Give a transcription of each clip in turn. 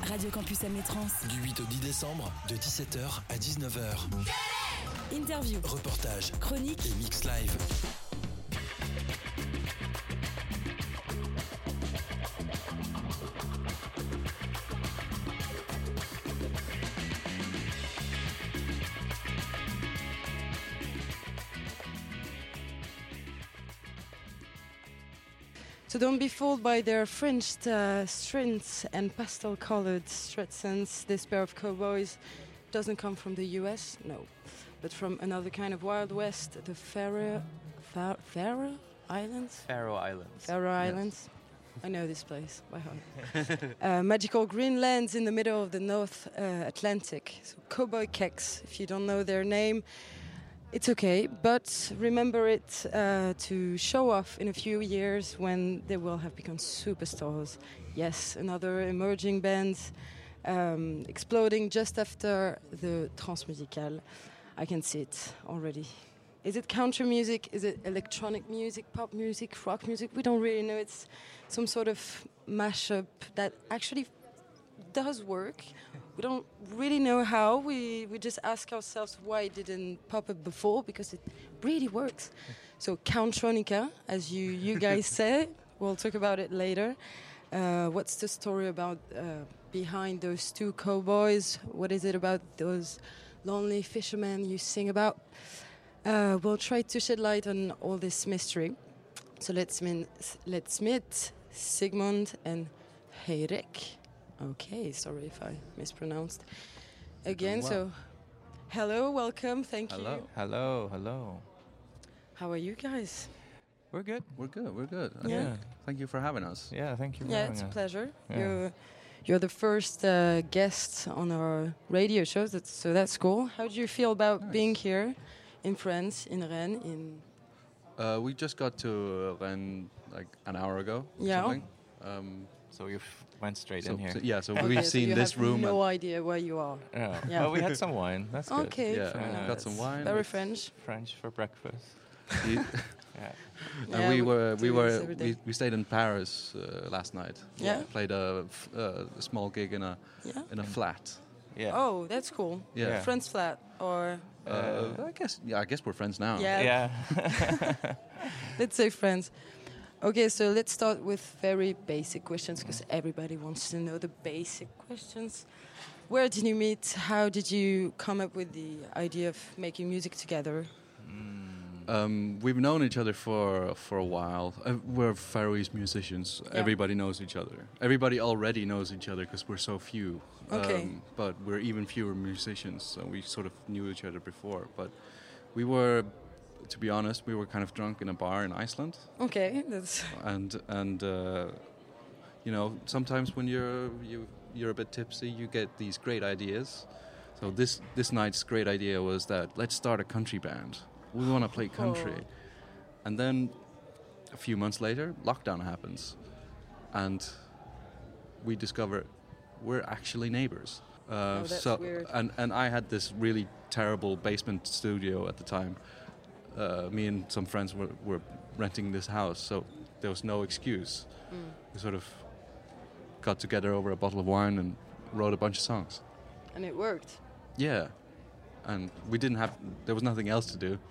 Radio Campus Amnétrans. Du 8 au 10 décembre, de 17h à 19h. Interview, reportage, chronique et mix live. So don't be fooled by their fringed strings and pastel-colored Stretsons. This pair of cowboys doesn't come from the US, no, but from another kind of Wild West, the Faroe Islands? Faroe Islands. Faroe Islands. I know this place by heart. Magical green lands in the middle of the North Atlantic. So Cowboy Keks, if you don't know their name, it's okay, but remember it to show off in a few years when they will have become superstars. Yes, another emerging band exploding just after the Transmusicale. I can see it already. Is it country music? Is it electronic music, pop music, rock music? We don't really know. It's some sort of mashup that actually does work. We don't really know how. We just ask ourselves why it didn't pop up before, because it really works. So Countronica, as you guys say, we'll talk about it later. What's the story about behind those two cowboys? What is it about those lonely fishermen you sing about? We'll try to shed light on all this mystery. So let's meet Sigmund and Heirik. Okay, sorry if I mispronounced. Again, Well. so hello, welcome, thank you. Hello. How are you guys? We're good. We're good. Yeah. Thank you for having us. Yeah, thank you for Yeah, having it's a us. pleasure. Yeah. You're the first guest on our radio show, so that's cool. How do you feel about being here in France, in Rennes? We just got to Rennes like an hour ago. or Yeah. something. So you went straight in here. So Okay, we've so seen you this have room. no idea where you are. Yeah. Yeah. Well, we had some wine. That's good. Okay, Yeah, fair got some enough. wine. Very It's French. French for breakfast. and Yeah, we do this every day. we stayed in Paris last night. Yeah. Played a small gig in a flat. Yeah. Oh, that's cool. Yeah. Friends flat or I guess we're friends now. Yeah. Yeah. let's say friends. Okay, so let's start with very basic questions because everybody wants to know the basic questions. Where did you meet? How did you come up with the idea of making music together? We've known each other for a while. We're Faroese musicians. Yeah. Everybody knows each other. Everybody already knows each other because we're so few. Okay. But we're even fewer musicians, so we sort of knew each other before. But we were, to be honest, we were kind of drunk in a bar in Iceland. Okay, that's And you know, sometimes when you're a bit tipsy, you get these great ideas. So this night's great idea was that let's start a country band. We want to play country. And then a few months later, lockdown happens. And we discover we're actually neighbors. that's weird. And I had this really terrible basement studio at the time. Me and some friends were renting this house, so there was no excuse. We sort of got together over a bottle of wine and wrote a bunch of songs. and it worked. Yeah. And there was nothing else to do.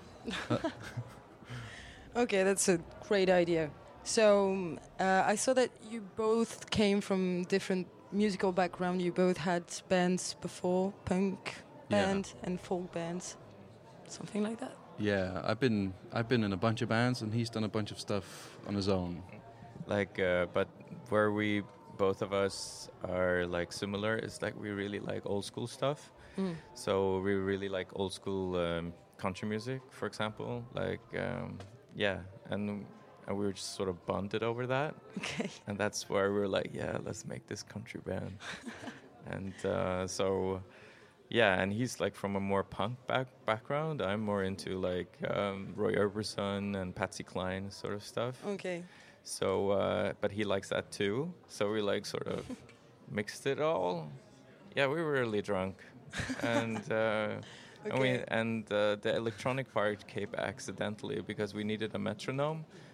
Okay, that's a great idea. So I saw that you both came from different musical background. You both had bands before, punk band and folk bands, something like that. Yeah, I've been in a bunch of bands, and he's done a bunch of stuff on his own. Like, but where we both of us are like similar is like we really like old school stuff. So we really like old school country music, for example. Like, and we were just sort of bonded over that. Okay. And that's where we were like, yeah, let's make this country band. And so, yeah, and he's like from a more punk background. I'm more into like Roy Orbison and Patsy Cline sort of stuff. Okay. So, but he likes that too. So we like sort of mixed it all. Yeah, we were really drunk. And Okay. the electronic part came accidentally because we needed a metronome,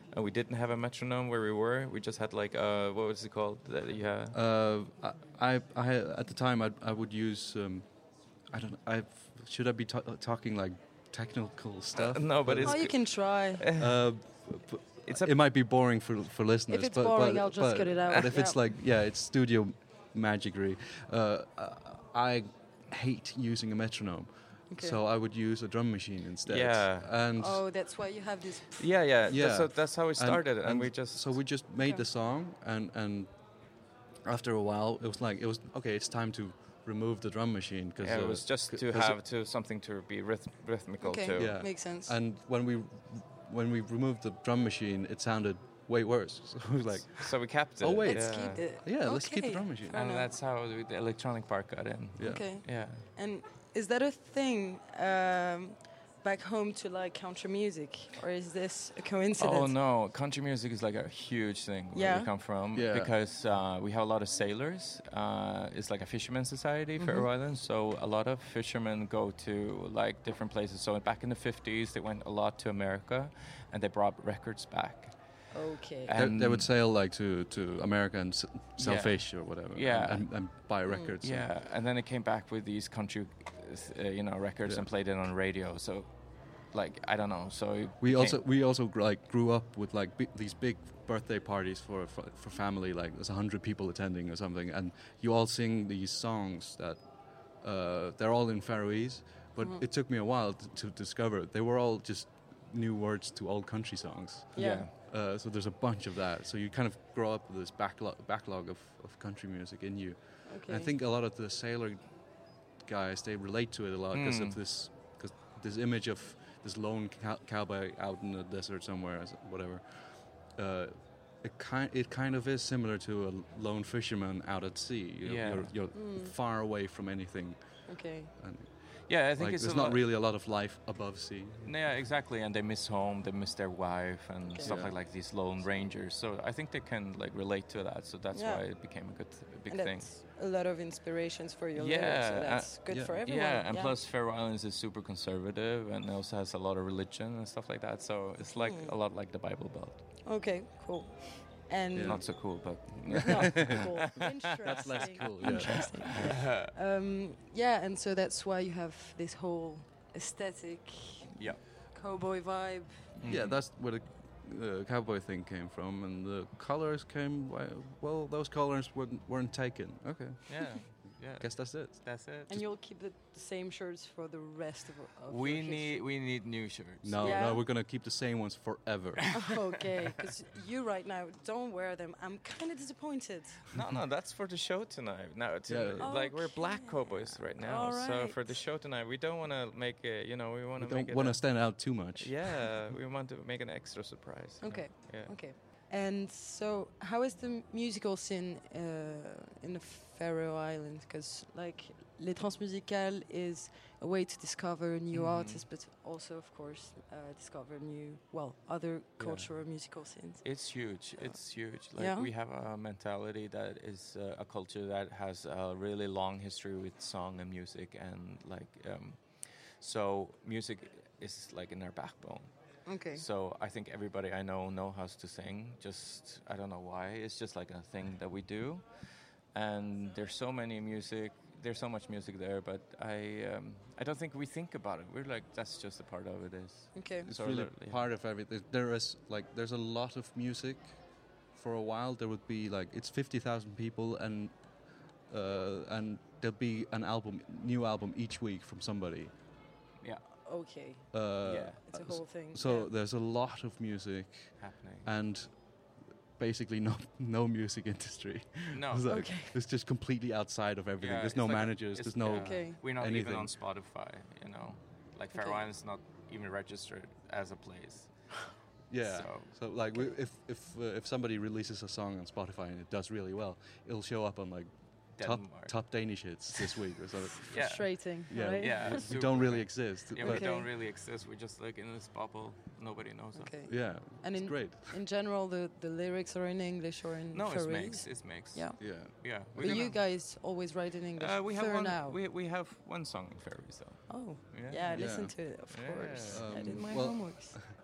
and we didn't have a metronome where we were. We just had like what was it called that you had? I at the time I would use I don't know. Should I be talking like technical stuff? No, but it's Oh, you can try. it's It might be boring for listeners. If it's but, boring, but, I'll just but, cut it out. But if it's Yeah. like, yeah, it's studio magicry. I hate using a metronome, Okay. so I would use a drum machine instead. Yeah. And Oh, that's why you have this. yeah. Yeah. That's how we started, and we just so we just made Okay. the song, and after a while, it was okay. It's time to remove the drum machine because it was just to have something to be rhythmical Okay, too. Yeah. makes sense. And when we removed the drum machine, it sounded way worse. So it was like, So we kept it. Oh, wait. Let's yeah. keep it. yeah, let's keep the Okay, drum machine. fair And enough. that's how the electronic part got in. Yeah. Okay. Yeah. And is that a thing back home to like country music, or is this a coincidence? Oh no, country music is like a huge thing where Yeah? we come from Yeah. because we have a lot of sailors. It's like a fisherman society, Faroe Islands. So a lot of fishermen go to like different places. So back in the 50s, they went a lot to America, and they brought records back. Okay. And They would sail like to America and sell Yeah. fish or whatever. Yeah. And buy records. Yeah, and then it came back with these country, records Yeah. and played it on radio. So, like, I don't know. So it We became- also like grew up with like these big birthday parties for family. Like there's 100 people attending or something, and you all sing these songs that they're all in Faroese. But it took me a while to discover they were all just new words to old country songs. Yeah. So there's a bunch of that. So you kind of grow up with this backlog of country music in you. Okay. And I think a lot of the sailor guys, they relate to it a lot because of this image of this lone cowboy out in the desert somewhere, whatever. It kind of is similar to a lone fisherman out at sea. You're far away from anything. Okay. And Yeah, I think like, it's there's a not lot. really a lot of life above sea. Yeah, exactly. And they miss home, they miss their wife, and Okay. stuff Yeah. like these lone rangers. So I think they can like relate to that. So that's Yeah. why it became a big And thing. that's a lot of inspirations for your Yeah, lyrics, so that's good yeah. for everyone. Yeah, and plus Faroe Islands is super conservative and also has a lot of religion and stuff like that. So it's like a lot like the Bible Belt. Okay, cool. And Yeah. Not so cool, but no, cool. Interesting. That's less cool. Yeah. Interesting. Yeah, and so that's why you have this whole aesthetic yeah. cowboy vibe. Yeah, that's where the cowboy thing came from, and the colors came. Well, those colors weren't taken. Okay, Yeah, yeah. guess that's it. That's it. And you'll keep the same shirts for the rest of We your need new shirts. No, Yeah. no, we're gonna keep the same ones forever. history. Okay, because you right now don't wear them. I'm kind of disappointed. No, that's for the show tonight. No, it's Yeah. like we're black Okay. cowboys right now. All So right. for the show tonight, we don't want to make it. We want We to make don't it. want to stand out too much. Yeah, we want to make an extra surprise. Okay. Yeah. Okay. And so, how is the musical scene in the Faroe Islands? Because, like, Les Transmusicales is a way to discover new artists, but also, of course, discover other cultural musical scenes. It's huge. It's huge. Like Yeah? we have a mentality that is a culture that has a really long history with song and music, and so music is like in our backbone. Okay. So I think everybody I know how to sing. Just I don't know why. It's just like a thing that we do, and there's so much music there. But I don't think we think about it. We're like that's just a part of it. Okay. It's So really literally, part of everything. There's a lot of music. For a while, there would be like it's 50,000 people, and there'll be new album each week from somebody. Yeah, Okay. yeah, It's a whole thing. So yeah. there's a lot of music, happening. and basically no music industry. No, It's like, Okay. it's just completely outside of everything. Yeah, there's it's no like managers. There's no. Okay. We're not anything. even on Spotify. Like Faroe Okay. Islands is not even registered as a place. Yeah. So- So like, if somebody releases a song on Spotify and it does really well, it'll show up on like Denmark. top Danish hits this week or something. Yeah. Frustrating, Yeah. right? Yeah, We super. don't really exist. Yeah, but we Okay. don't really exist. We're just like in this bubble. Nobody knows us. Okay. yeah, And it's in great. in general, the lyrics are in English or in No, it's Faroese? mixed. It's mixed. Yeah. Yeah. Yeah. But you guys always write in English. we have for one. now. We have one song in Faroese though. Oh, Yeah. yeah, I Yeah. listened to it, of Yeah. course. I did my Well, homeworks.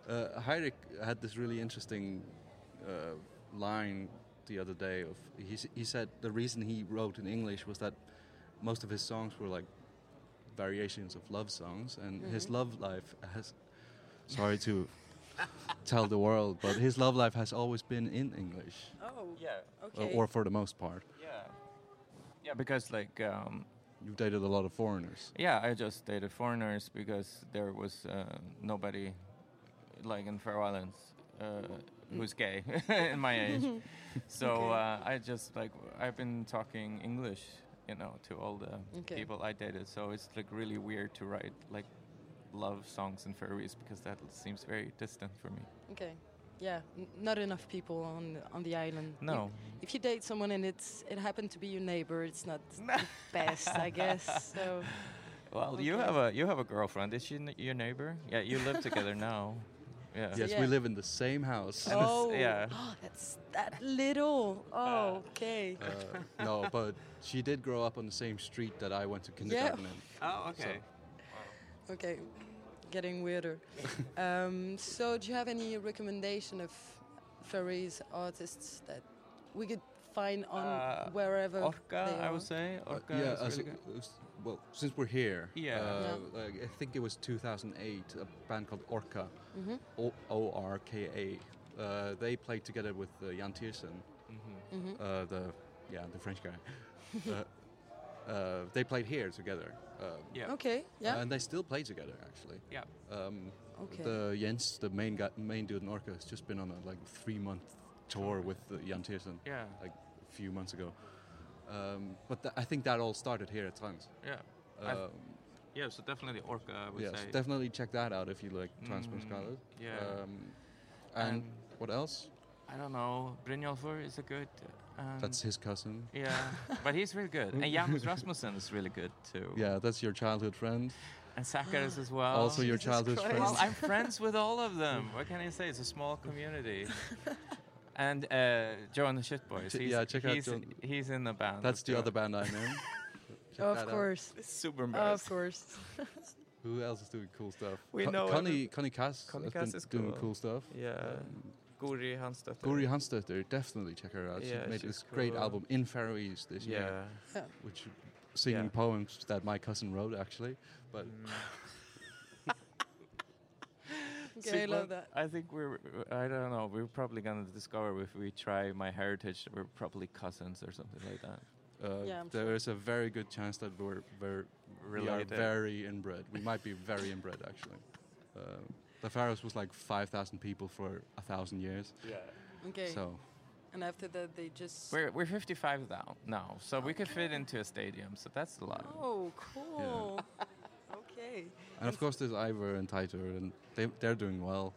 Heinrich had this really interesting line the other day. He said the reason he wrote in English was that most of his songs were like variations of love songs, and his love life has. Sorry to tell the world, but his love life has always been in English, Oh, Yeah. okay. or for the most part. Yeah, because like You've dated a lot of foreigners. I just dated foreigners because there was nobody like in Faroe Islands who's gay in my age. So I just like I've been talking English, to all the people I dated. So it's like really weird to write like love songs in Faroese because that seems very distant for me. Okay. Yeah, not enough people on the island. No. If you date someone and it happened to be your neighbor, it's not the best, I guess. So. Well, you have a girlfriend. Is she your neighbor? Yeah, you live together now. Yeah. Yes, Yeah. we live in the same house. Oh, yeah. That's that little. Oh, okay. No, but she did grow up on the same street that I went to kindergarten in. Oh, okay. Okay, getting weirder. So, do you have any recommendation of Faroese artists that we could find on wherever Orca, they are? I would say. Orca Yeah, is really good. well, since we're here, Yeah. like, I think it was 2008, a band called Orca, Mm-hmm. ORKA. They played together with Jan Tiersen, the French guy. They played here together. Yeah. Okay, yeah. And they still play together, actually. Yeah. Okay. The Jens, the main dude in Orca, has just been on a 3-month tour with Jan Tiersen, Yeah. like a few months ago. But I think that all started here at Trans. Yeah. Yeah, so definitely Orca, I would Yes, say. definitely check that out if you like Transmusicaler. yeah. And Um, what else? I don't know. Brynjolfur is a good. That's his cousin. Yeah, but he's really good. And Janus Rasmussen is really good too. Yeah, that's your childhood friend. And Zacharias as well. Also your Jesus childhood Christ. friend. Well, I'm friends with all of them. What can I say? It's a small community. And Joan the Shitboys. Check out he's, Joan. He's in the band. That's with the Joan. other band I'm in. Check Of that out. course. It's super Of embarrassing. course. Who else is doing cool stuff? We know Connie Cass Connie has Cass been is doing cool. cool stuff. Yeah. Guri Hansdotter. Guri Hansdotter, definitely check her out. Yeah, she made she's this great cool. album in Faroese this year, Yeah. which singing Yeah. poems that my cousin wrote actually. But Okay, I love that. I think I don't know, we're probably going to discover if we try My Heritage that we're probably cousins or something like that. Yeah, I'm there sure. is a very good chance that we are Related. very inbred. We might be very inbred actually. The Faroes was like 5,000 people for 1,000 years. Yeah. Okay. So And after that, they just. We're 55 now, so we could fit into a stadium, so that's a lot. Oh, cool. Okay. and of course there's Ivor and Titer, and they're doing well.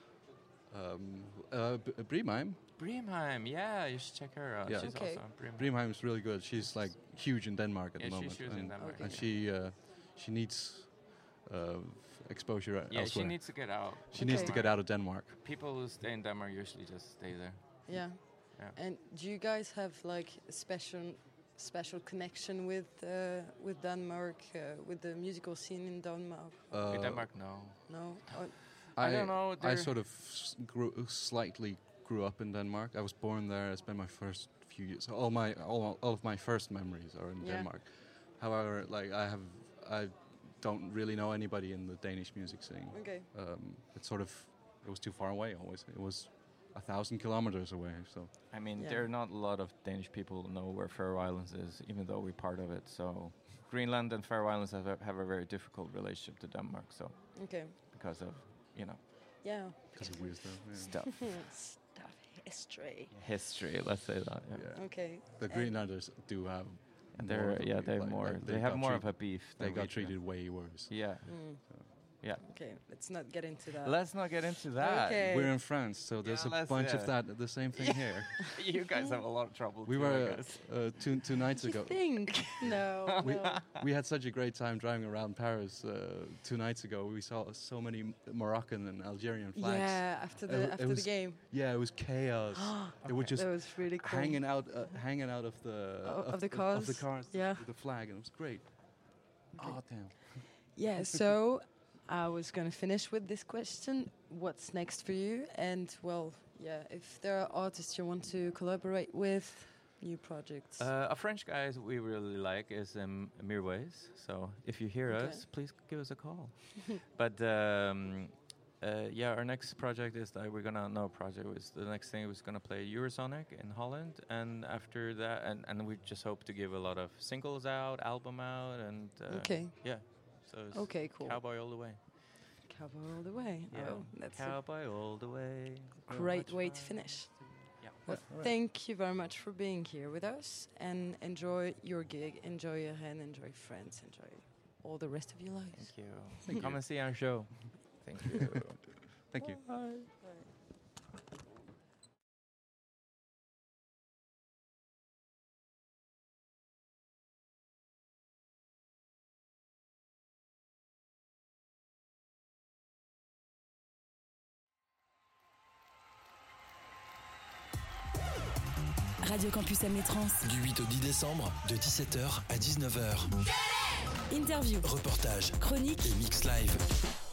Brimheim. Brimheim, yeah, you should check her out. Yeah. She's Okay. also on Brimheim. Brimheim is really good. She's like huge in Denmark at Yeah, the moment. she's huge in and, Denmark. and Okay. she needs exposure Yeah, elsewhere. she needs to get out. She needs to Okay. get out of Denmark. People who stay in Denmark usually just stay there. Yeah. Yeah. And do you guys have like a special connection with Denmark, with the musical scene in Denmark? In Denmark, no. No. Oh, I don't know, I there- sort of slightly grew up in Denmark. I was born there. I spent my first few years. All of my first memories are in Yeah. Denmark. However, like I don't really know anybody in the Danish music scene. okay. It was too far away. Always, it was 1,000 kilometers away. So I mean, Yeah. there are not a lot of Danish people who know where Faroe Islands is, even though we're part of it. So Greenland and Faroe Islands have a very difficult relationship to Denmark. So Okay. because of Yeah. because of weird stuff. Yeah. stuff, Stuff history. history. Let's say that. Yeah. Yeah. Okay. The Greenlanders do have. And more of a they're like- more. like They have got more of treated- a beef. They than got we do. treated way worse. Yeah. Mm. Yeah. Okay. Let's not get into that. Let's not get into that. Okay. We're in France, so there's Yeah, a bunch of yeah. that. The same thing here. You guys have a lot of trouble. We too, were I guess. two nights You ago. think? No. no. We had such a great time driving around Paris 2 nights ago. We saw so many Moroccan and Algerian flags. Yeah. After the It was- game. Yeah, it was chaos. They were just That was really cool. hanging out of the Of the cars? of the cars Yeah. with the flag, and it was great. Oh damn! Yeah, so I was going to finish with this question. what's next for you. And well, yeah, if there are artists you want to collaborate with, new projects. A French guy we really like is Mirwais. So if you hear us, please give us a call. But our next project is that the next thing was gonna play Eurosonic in Holland, and after that, and we just hope to give a lot of singles out, album out, and yeah. So it's Cool. Cowboy all the way. Cowboy all the way. Yeah. Oh, that's Cowboy all the way. a great way to finish. Yeah. Well, thank you very much for being here with us, and enjoy your gig, enjoy your hand, enjoy France, enjoy all the rest of your lives. Thank you. Come and see our show. Thank you. Thank you. Bye. Radio Campus Amé-Trans. Du 8 au 10 décembre, de 17h à 19h. Interview, Reportage chronique, et mix live.